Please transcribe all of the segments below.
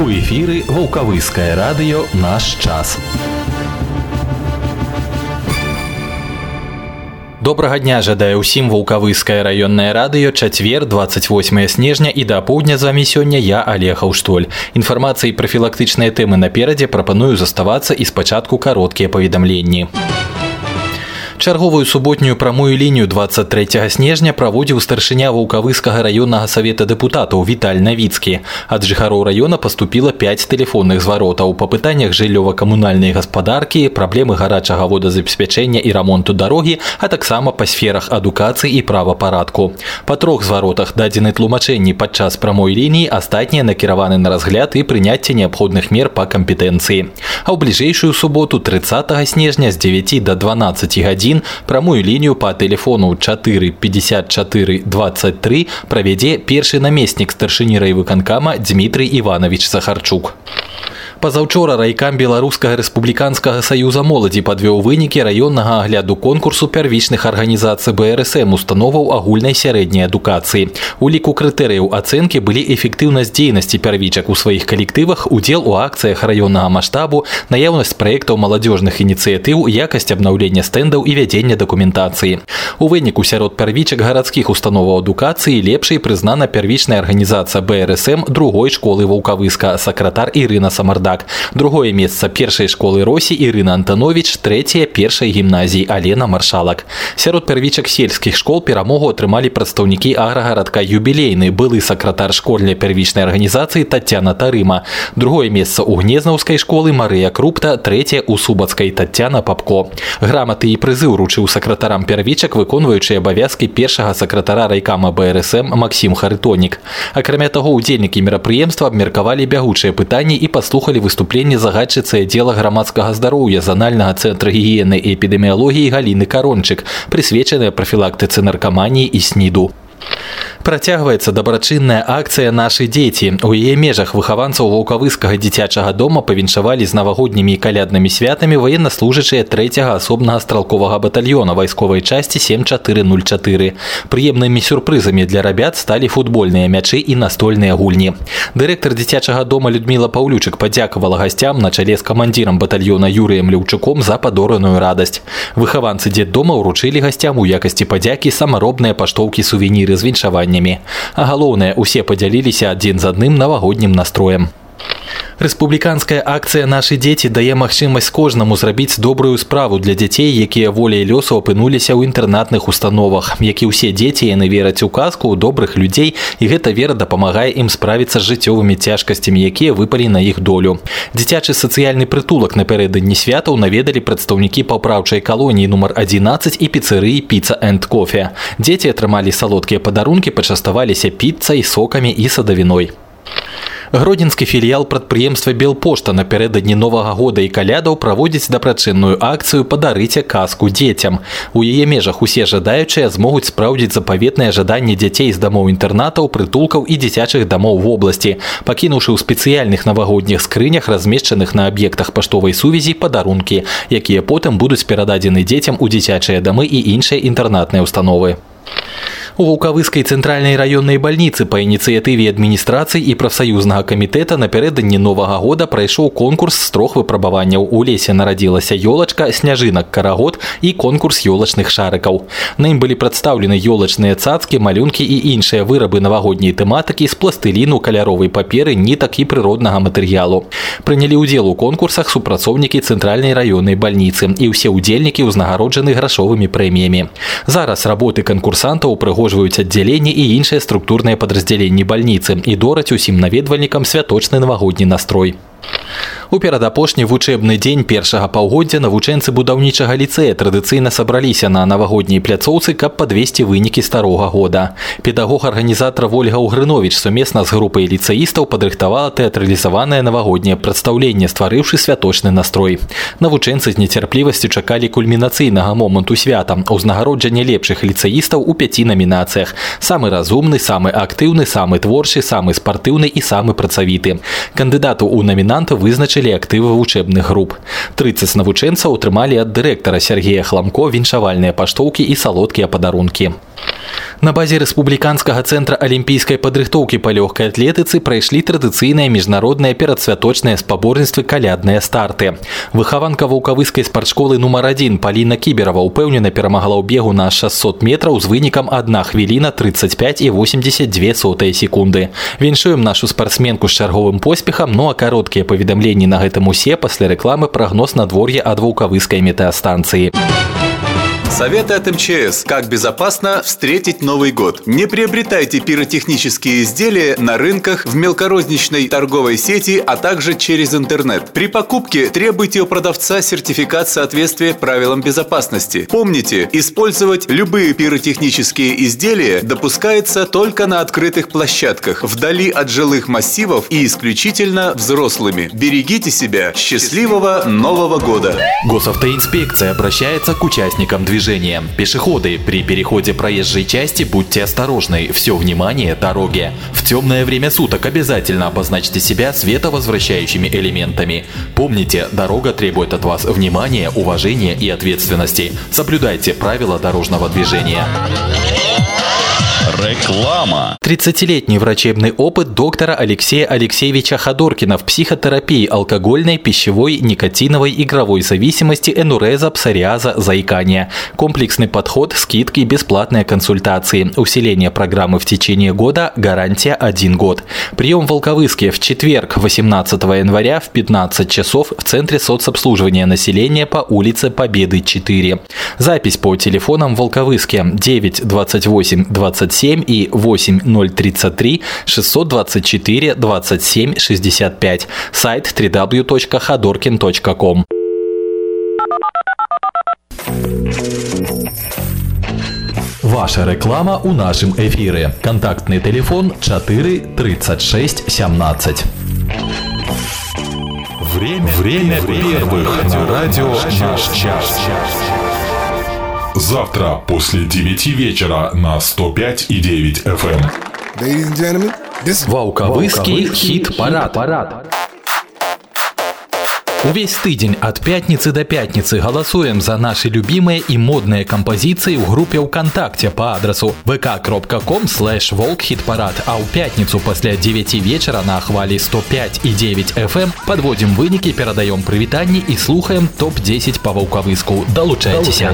У эфіры Ваўкавыскае радыё «Наш час». Добрага дня жадае ўсім Ваўкавыскае раённае радыё. Чацвер, 28 снежня, і да апоўдня з вамі сёння я, Олег Аўштоль. Інфармацыі пра прафілактычныя тэмы наперадзе, прапаную заставацца і спачатку кароткія паведамленні. Чарговую суботнюю прамую лінію 23 снежня праводзіў старшыня Ваўкавыскага раённага савета дэпутатаў Віталь Навіцкі. Ад жыхароў раёна паступіла 5 тэлефонных зваротаў па пытаннях жыллёва-камунальнай гаспадаркі, праблемы гарачага водазабеспячэння і рамонту дарогі, а таксама па сферах адукацыі і правапарадку. Па 3 зваротах дадзены тлумачэнні падчас прамой лініі, астатнія накіраваны на разгляд і прыняцце неабходных мер па кампетэнцыі. А ў бліжэйшую суботу 30 снежня з 9 до 12 гадзін прамую лінію па тэлефону 4 54 23 правядзе першы намеснік старшыні райвыканкама Дмітрый Іванович Сахарчук. Пазаўчора райкам Беларускага рэспубліканскага саюза моладзі падвёў вынікі раённага агляду конкурсу первічных арганізацый БРСМ установаў агульнай сярэдняй адукацыі. У ліку крытэрыяў ацэнкі былі эфектыўнасць дзейнасці первічак у сваіх калектывах, удзел у акцыях раённага маштабу, наяўнасць праектаў маладзёжных ініцыятыў, якасць абнаўлення стэндаў і вядзення дакументацыі. У выніку сярод первічак гарадскіх установаў адукацыі лепшай прызнана первічная арганізацыя БРСМ другой школы Ваўкавыска, сакратар Ірына Самардак. Другое месца першай школы Росі Ірына Антанович, трэцяе першай гімназіі Алена Маршалак. Сярод первічак сельскіх школ перамогу атрымалі прадстаўнікі аграгарадка Юбілейны, былы сакратар школьнай первічнай арганізацыі Тацяна Тарыма. Другое месца у Гнезнаўскай школы Марыя Крупта, трэцяе у Субацкай Тацяна Папко. Граматы і прызы ўручыў сакратарам первічак, выконваючы абавязкі першага сакратара райкама БРСМ Максім Харытонік. Акрамя таго, удзельнікі мерапрыемства абмеркавалі бягучыя пытанні і паслухалі выступленне загадчыцы аддзела грамадскага здароўя Занальнага цэнтра гігіены і эпідэміялогіі Галіны Карончык, прысвечаная прафілактыцы наркаманіі і СНІДу. Працягваецца дабрачынная акцыя «Нашы дзеці». У яе межах выхаванцаў Ваўкавыскага дзіцячага дома павіншавалі з навагоднімі і каляднымі святамі ваеннаслужачыя 3-го асобнага стралковага батальёна вайсковай часці 7404. Прыемнымі сюрпрызамі для рабят сталі футбольныя мячы і настольныя гульні. Дырэктар дзіцячага дома Людміла Паўлючык падзякавала гасцям на чале з камандзірам батальёна Юрыем Ляўчуком за падораную радасць. Выхаванцы дзетдома ўручылі гасцям у якасці падзякі самаробныя паштоўкі-сувеніры з віншаваннямі. А галоўнае, усе падзяліліся адзін з адным навагоднім настроем. Рэспубліканская акцыя «Нашы дзеці» дае магчымасць кожнаму зрабіць добрую справу для дзяцей, якія воляй лёсу апынуліся ў інтэрнатных установах. Як і ўсе дзеці, яны вераць у казку, у добрых людзей, і гэта вера дапамагае ім справіцца з жыццёвымі цяжкасцямі, якія выпалі на іх долю. Дзіцячы сацыяльны прытулак напярэдадні святаў наведалі прадстаўнікі папраўчай калоніі нумар 11 і піцэрыі «Піца энд кофе». Дзеці атрымалі салодкія падарункі, пачаставаліся піццай, сокамі і садавіной. Гродзенскі філіял прадпрыемства «Белпошта» напярэдадні Новага года і калядаў праводзіць дабрачынную акцыю «Падарыце казку дзецям». У яе межах усе жадаючыя змогуць спраўдзіць запаветныя жаданні дзяцей з дамоў-інтэрнатаў, прытулкаў і дзіцячых дамоў вобласці, пакінуўшы ў спецыяльных навагодніх скрынях, размешчаных на аб'ектах паштовай сувязі, падарункі, якія потым будуць перададзены дзецям у дзіцячыя дамы і іншыя інтэрнатныя установы. У Ваўкавыскай цэнтральнай раённай бальніцы па ініцыятыве адміністрацыі і прафсаюзнага камітэта напярэдадні Новага года прайшоў конкурс з 3 выпрабаванняў. У лесе нарадзілася ёлачка, сняжынак карагод і конкурс ёлачных шарыкаў. На ім былі прадстаўлены ёлачныя цацкі, малюнкі і іншыя вырабы навагодняй тэматыкі з пластыліну, каляровай паперы, нітак і прыроднага матэрыялу. Прынялі ўдзел у конкурсах супрацоўнікі цэнтральнай раённай бальніцы, і ўсе ўдзельнікі ўзнагароджаны грашовымі прэміямі. Зараз работы канкурсантаў упрыгожваюць аддзяленні і іншыя структурныя падраздзяленні бальніцы і дораць усім наведвальнікам святочны навагодні настрой. У перадапошні вучэбны дзень першага паўгоддзя навучэнцы будаўнічага ліцэя традыцыйна сабраліся на навагодняй пляцоўцы, каб падвесці вынікі старога года. Педагог-арганізатар Вольга Угрыновіч сумесна з групай ліцэістаў падрыхтавала тэатралізаванае навагодняе прадстаўленне, стварыўшы святочны настрой. Навучэнцы з нецярплівасцю чакалі кульмінацыйнага моманту свята – узнагароджання лепшых ліцэістаў у 5 намінацыях: самы разумны, самы актыўны, самы творчы, самы спартыўны і самы працавіты. Кандыдату ў намінанта вызначылі актывы вучэбных груп. 30 навучэнцаў атрымалі ад дырэктара Сергея Хламко віншавальныя паштоўкі і салодкія падарункі. На базе Рэспубліканскага цэнтра алімпійскай падрыхтоўкі па лёгкай атлетыцы прайшлі традыцыйныя міжнародныя перадсвяточныя спаборніцтвы калядныя старты. Выхаванка ваўкавыскай спартшколы нумар 1 Паліна Кіберава ўпэўнена перамагла ў бегу на 600 метраў з вынікам 1 хвіліна 35,82 секунды. Віншуем нашу спартсменку з чарговым поспехам, ну а кароткія паведамленні на гэтым усе пасля рэкламы прагноз надвор'я ад ваўкавыскай метэастанцыі. Советы от МЧС. Как безопасно встретить Новый год. Не приобретайте пиротехнические изделия на рынках, в мелкорозничной торговой сети, а также через интернет. При покупке требуйте у продавца сертификат соответствия правилам безопасности. Помните, использовать любые пиротехнические изделия допускается только на открытых площадках, вдали от жилых массивов и исключительно взрослыми. Берегите себя. Счастливого Нового года! Госавтоинспекция обращается к участникам движения. Пешеходы, при переходе проезжей части будьте осторожны. Все внимание дороге. В темное время суток обязательно обозначьте себя световозвращающими элементами. Помните, дорога требует от вас внимания, уважения и ответственности. Соблюдайте правила дорожного движения. Реклама. 30-летний врачебный опыт доктора Алексея Алексеевича Ходоркина в психотерапии алкогольной, пищевой, никотиновой, игровой зависимости, энуреза, псориаза, заикания. Комплексный подход, скидки, бесплатные консультации. Усиление программы в течение года, гарантия 1 год. Прием в Волковыске в четверг, 18 января в 15 часов в Центре соцобслуживания населения по улице Победы 4. Запись по телефонам в Волковыске 9 28 27 и 8033 624 27 65. Сайт www.khodorkin.com. Ваша реклама у нашем эфире. Контактный телефон 4 36 17. Время первых на радио «Наш час». Завтра после 9 вечера на 105,9 FM. Ваўкавыскі хіт-парад. Увесь тыдзень ад пятніцы да пятніцы галасуем за наши любимые и модные композиции в группе ВКонтакте по адресу vk.com/волкхитпарад, а ў пятніцу пасля 9 вечера на хвалі 105,9 FM подводим выники, передаем прывітанні и слухаем топ-10 по Ваўкавыску. Долучайтеся.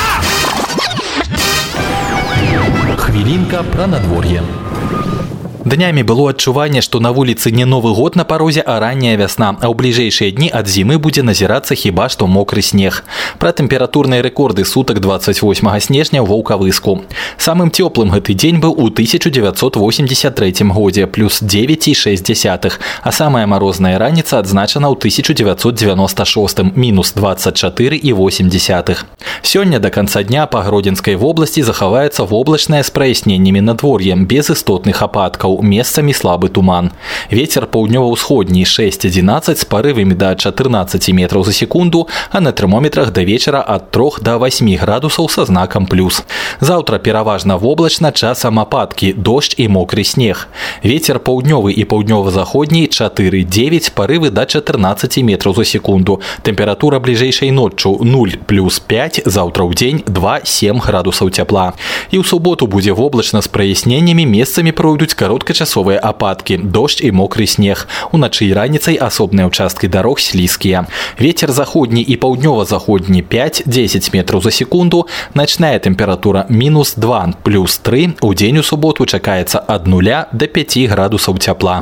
Хвілінка про надвор'е. Днями было адчуванне, што на вуліцы не Новы год на парозе, а ранняя вясна, а ў бліжэйшыя дні ад зімы будзе назірацца хіба што мокры снег. Пра тэмпературныя рэкорды сутак 28 снежня ў Ваўкавыску. Самым цёплым гэты дзень быў у 1983 годзе, плюс 9,6, а самая марозная раніца адзначана ў 1996, мінус 24,8. Сёння да канца дня па Гродзенскай вобласці захаваецца воблачнае з праясненнямі надвор'е, без істотных ападкаў. Месцамі слабы туман. Вецер паўднёва-ўсходні 6-11 з парывамі да 14 метраў за секунду, а на тэрмометрах да вечара ад 3 до 8 градусаў са знакам плюс. Заўтра пераважна воблачна, часам ападкі, дождж і мокры снег. Вецер паўднёвы і паўднёва-заходні 4-9, парывы да 14 метраў за секунду. Тэмпература бліжэйшай ноччу 0 плюс 5, заўтра ў дзень 2-7 градусаў цяпла. І ў суботу будзе воблачна з праясненнямі, месцамі пройдуць кароткачасовыя ападкі, дождж і мокры снег. Уначы і раніцай асобныя ўчасткі дарог слізкія. Вецер заходні і паўднёва-заходні 5-10 метраў за секунду. Начная тэмпература мінус 2 плюс 3. У дзень у суботу чакаецца ад 0 до 5 градусаў цяпла.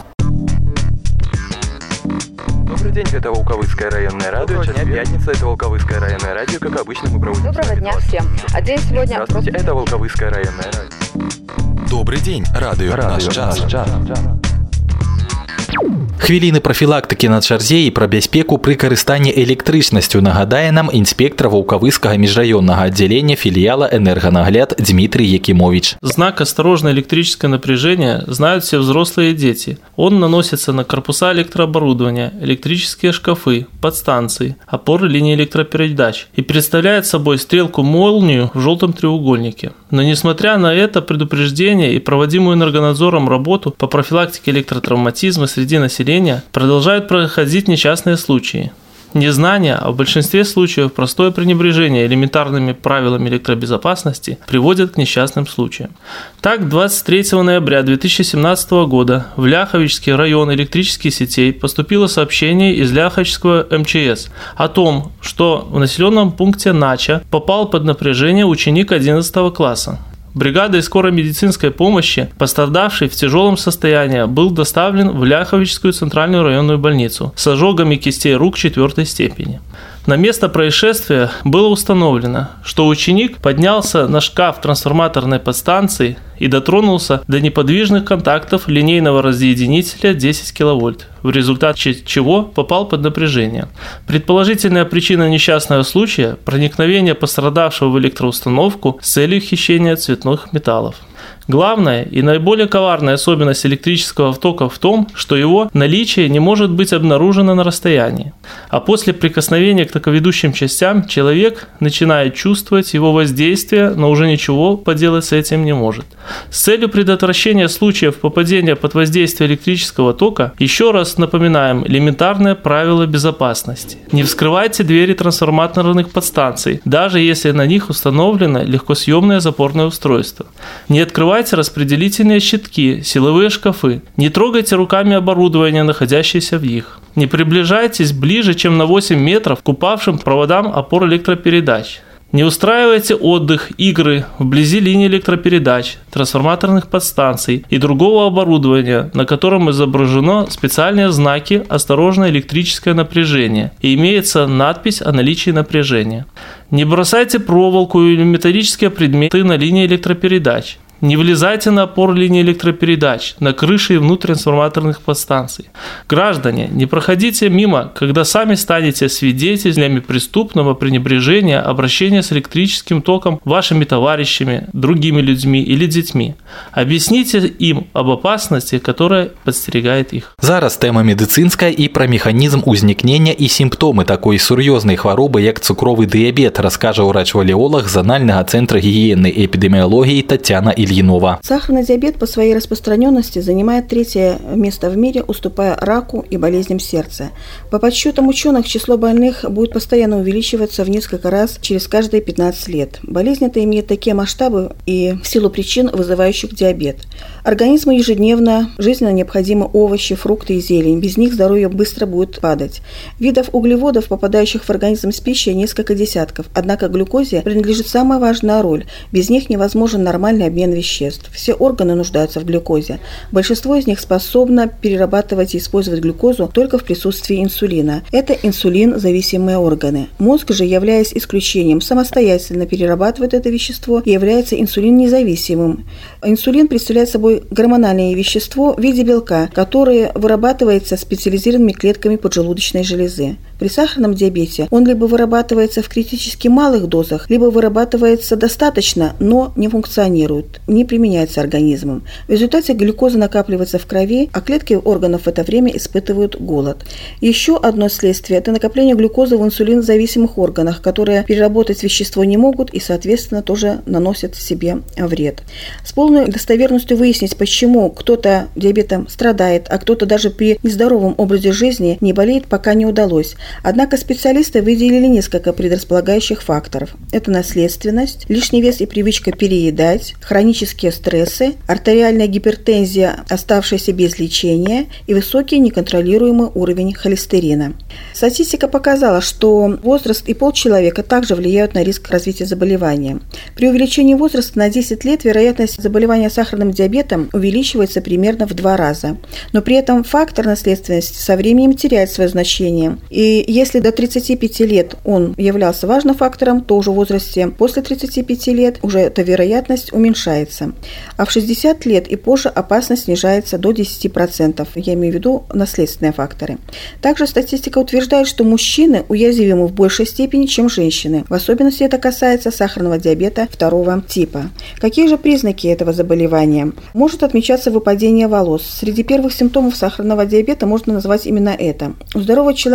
Добрый день, это Волковыское районное радио. Сейчас пятница, это Волковыское районное радио. Как обычно, мы проводим... Доброго дня всем. А день сегодня... Здравствуйте, это Волковыское районное радио. Добрый день, радио «Наш час». Хвіліны прафілактыкі на чарзе і пра бяспеку пры карыстанні электрычнасцю нагадае нам інспектор Ваўкавыскага міжраённага аддзялення філіяла «Энерганагляд» Дмитрий Якимович. Знак «Осторожное электрическое напряжение» знают все взрослые и дети. Он наносится на корпуса электрооборудования, электрические шкафы, подстанции, опоры линии электропередач и представляет собой стрелку-молнию в желтом треугольнике. Но несмотря на это предупреждение и проводимую энергонадзором работу по профилактике электротравматизма среди населения, продолжают проходить несчастные случаи. Незнание, а в большинстве случаев простое пренебрежение элементарными правилами электробезопасности приводит к несчастным случаям. Так, 23 ноября 2017 года в Ляховичский район электрических сетей поступило сообщение из Ляховичского МЧС о том, что в населенном пункте Нача попал под напряжение ученик 11 класса. Бригадой скорой медицинской помощи пострадавший в тяжелом состоянии был доставлен в Ляховичскую центральную районную больницу с ожогами кистей рук 4 степени. На место происшествия было установлено, что ученик поднялся на шкаф трансформаторной подстанции и дотронулся до неподвижных контактов линейного разъединителя 10 кВт, в результате чего попал под напряжение. Предположительная причина несчастного случая – проникновение пострадавшего в электроустановку с целью хищения цветных металлов. Главная и наиболее коварная особенность электрического тока в том, что его наличие не может быть обнаружено на расстоянии, а после прикосновения к токоведущим частям человек начинает чувствовать его воздействие, но уже ничего поделать с этим не может. С целью предотвращения случаев попадения под воздействие электрического тока еще раз напоминаем элементарное правило безопасности. Не вскрывайте двери трансформаторных подстанций, даже если на них установлено легкосъемное запорное устройство. Не открывайте распределительные щитки, силовые шкафы. Не трогайте руками оборудование, находящееся в них. Не приближайтесь ближе, чем на 8 метров к упавшим проводам опор электропередач. Не устраивайте отдых, игры вблизи линий электропередач, трансформаторных подстанций и другого оборудования, на котором изображено специальные знаки «Осторожно, электрическое напряжение» и имеется надпись о наличии напряжения. Не бросайте проволоку или металлические предметы на линии электропередач. Не влезайте на опоры линии электропередач, на крыши и внутрь трансформаторных подстанций. Граждане, не проходите мимо, когда сами станете свидетелями преступного пренебрежения обращения с электрическим током вашими товарищами, другими людьми или детьми. Объясните им об опасности, которая подстерегает их. Зараз тема медицинская и про механизм узникнення и симптомы такой сур'ёзнай хваробы, як цукровый диабет, расскажа ўрач-валеолог Зонального центра гигиены и эпидемиологии Татьяна Ильинова. Сахарный диабет по своей распространенности занимает 3-е место в мире, уступая раку и болезням сердца. По подсчетам ученых, число больных будет постоянно увеличиваться в несколько раз через каждые 15 лет. Болезнь эта имеет такие масштабы и в силу причин, вызывающих диабет. Организму ежедневно жизненно необходимы овощи, фрукты и зелень. Без них здоровье быстро будет падать. Видов углеводов, попадающих в организм с пищей, несколько десятков. Однако глюкозе принадлежит самая важная роль. Без них невозможен нормальный обмен веществ. Все органы нуждаются в глюкозе. Большинство из них способно перерабатывать и использовать глюкозу только в присутствии инсулина. Это инсулин-зависимые органы. Мозг же, являясь исключением, самостоятельно перерабатывает это вещество и является инсулин-независимым. Инсулин представляет собой гормональное вещество в виде белка, которое вырабатывается специализированными клетками поджелудочной железы. При сахарном диабете он либо вырабатывается в критически малых дозах, либо вырабатывается достаточно, но не функционирует, не применяется организмом. В результате глюкоза накапливается в крови, а клетки органов в это время испытывают голод. Еще одно следствие – это накопление глюкозы в инсулинозависимых органах, которые переработать вещество не могут и, соответственно, тоже наносят себе вред. С полной достоверностью выяснить, почему кто-то диабетом страдает, а кто-то даже при нездоровом образе жизни не болеет, пока не удалось. Однако специалисты выделили несколько предрасполагающих факторов. Это наследственность, лишний вес и привычка переедать, хронические стрессы, артериальная гипертензия, оставшаяся без лечения, и высокий неконтролируемый уровень холестерина. Статистика показала, что возраст и пол человека также влияют на риск развития заболевания. При увеличении возраста на 10 лет вероятность заболевания сахарным диабетом увеличивается примерно в 2 раза. Но при этом фактор наследственности со временем теряет свое значение. И если до 35 лет он являлся важным фактором, то уже в возрасте после 35 лет уже эта вероятность уменьшается. А в 60 лет и позже опасность снижается до 10%. Я имею в виду наследственные факторы. Также статистика утверждает, что мужчины уязвимы в большей степени, чем женщины. В особенности это касается сахарного диабета 2 типа. Какие же признаки этого заболевания? Может отмечаться выпадение волос. Среди первых симптомов сахарного диабета можно назвать именно это. У здорового человека в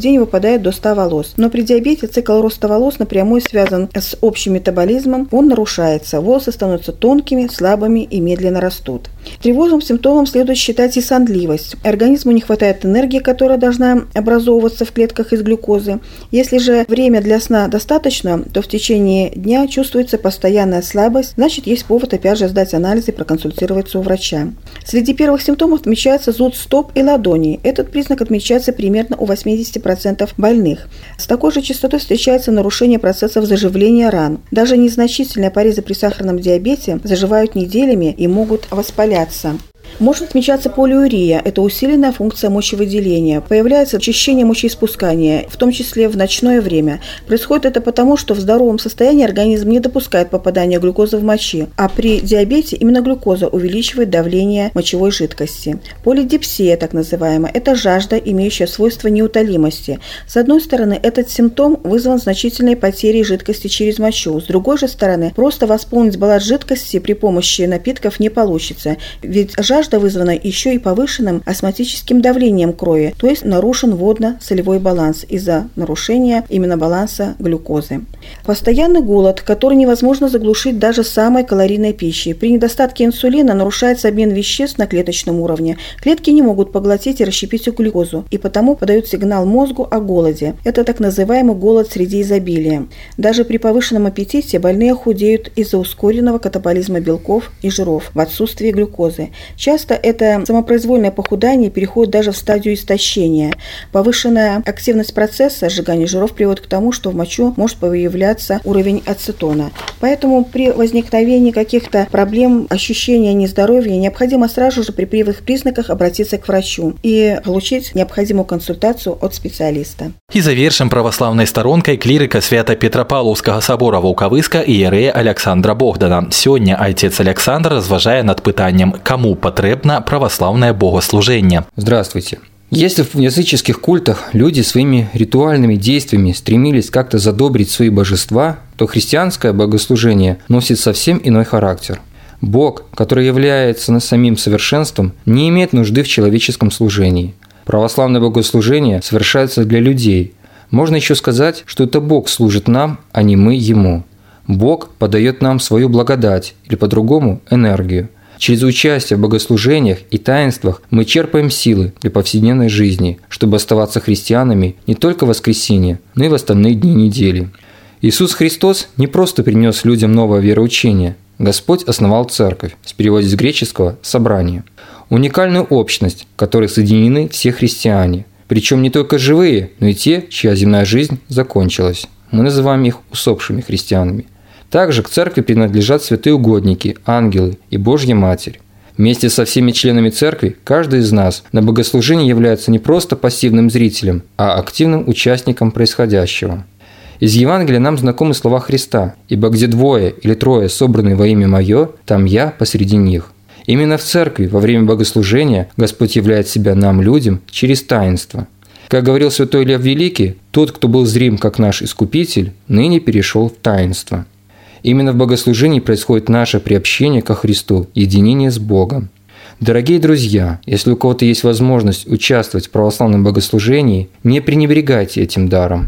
день выпадает до 100 волос. Но при диабете цикл роста волос напрямую связан с общим метаболизмом, он нарушается, волосы становятся тонкими, слабыми и медленно растут. Тревожным симптомом следует считать и сонливость. Организму не хватает энергии, которая должна образовываться в клетках из глюкозы. Если же время для сна достаточно, то в течение дня чувствуется постоянная слабость, значит, есть повод опять же сдать анализы и проконсультироваться у врача. Среди первых симптомов отмечается зуд стоп и ладоней. Этот признак отмечается примерно у 80% больных. С такой же частотой встречается нарушение процессов заживления ран. Даже незначительные порезы при сахарном диабете заживают неделями и могут воспаляться. Может отмечаться полиурия – это усиленная функция мочевыделения. Появляется очищение мочеиспускания, в том числе в ночное время. Происходит это потому, что в здоровом состоянии организм не допускает попадания глюкозы в мочи, а при диабете именно глюкоза увеличивает давление мочевой жидкости. Полидипсия, так называемая, это жажда, имеющая свойство неутолимости. С одной стороны, этот симптом вызван значительной потерей жидкости через мочу. С другой же стороны, просто восполнить баланс жидкости при помощи напитков не получится, ведь жажда вызвана еще и повышенным осмотическим давлением крови, то есть нарушен водно-солевой баланс из-за нарушения именно баланса глюкозы. Постоянный голод, который невозможно заглушить даже самой калорийной пищей. При недостатке инсулина нарушается обмен веществ на клеточном уровне. Клетки не могут поглотить и расщепить глюкозу, и потому подают сигнал мозгу о голоде. Это так называемый голод среди изобилия. Даже при повышенном аппетите больные худеют из-за ускоренного катаболизма белков и жиров в отсутствии глюкозы. Часто это самопроизвольное похудание переходит даже в стадию истощения. Повышенная активность процесса сжигания жиров приводит к тому, что в мочу может появляться уровень ацетона. Поэтому при возникновении каких-то проблем, ощущения нездоровья, необходимо сразу же при первых признаках обратиться к врачу и получить необходимую консультацию от специалиста. І завершым праваслаўнай старонкай клірыка Свята-Петрапаўлаўскага сабора Ваўкавыска іерэя Александра Богдана. Сёння отец Александр разважае над пытаннем, кому потребно православное богослужение. Здравствуйте. Если в языческих культах люди своими ритуальными действиями стремились как-то задобрить свои божества, то христианское богослужение носит совсем иной характер. Бог, который является самим совершенством, не имеет нужды в человеческом служении. Православное богослужение совершается для людей. Можно еще сказать, что это Бог служит нам, а не мы Ему. Бог подает нам свою благодать, или по-другому – энергию. Через участие в богослужениях и таинствах мы черпаем силы для повседневной жизни, чтобы оставаться христианами не только в воскресенье, но и в остальные дни недели. Иисус Христос не просто принес людям новое вероучение. Господь основал церковь, с перевода с греческого «собрание». Уникальную общность, в которой соединены все христиане. Причем не только живые, но и те, чья земная жизнь закончилась. Мы называем их усопшими христианами. Также к церкви принадлежат святые угодники, ангелы и Божья Матерь. Вместе со всеми членами церкви каждый из нас на богослужении является не просто пассивным зрителем, а активным участником происходящего. Из Евангелия нам знакомы слова Христа: «Ибо где двое или трое собраны во имя Мое, там Я посреди них». Именно в церкви во время богослужения Господь являет себя нам, людям, через таинство. Как говорил святой Илья Великий, тот, кто был зрим как наш Искупитель, ныне перешел в таинство. Именно в богослужении происходит наше приобщение ко Христу, единение с Богом. Дорогие друзья, если у кого-то есть возможность участвовать в православном богослужении, не пренебрегайте этим даром.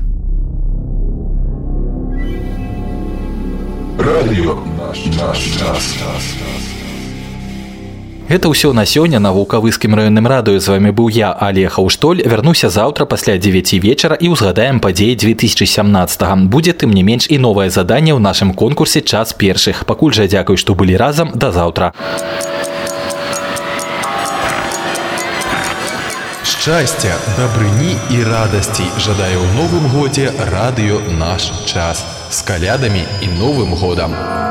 Радио наш. Это ўсё на сёння на Ваўкавыскім раённым радыё. З вами быў я, Олег Аўштоль. Вярнуся заўтра пасля 9 вечара і ўзгадаем падзеі 2017. Будзе тым не менш і новае заданне ў нашым конкурсе «Час першых». Пакуль жа дзякуй, што былі разам. Да заўтра. Шчасця, дабрыні і радасцей жадаю ў новым годзе радыё «Наш час». З калядамі і Новым годам!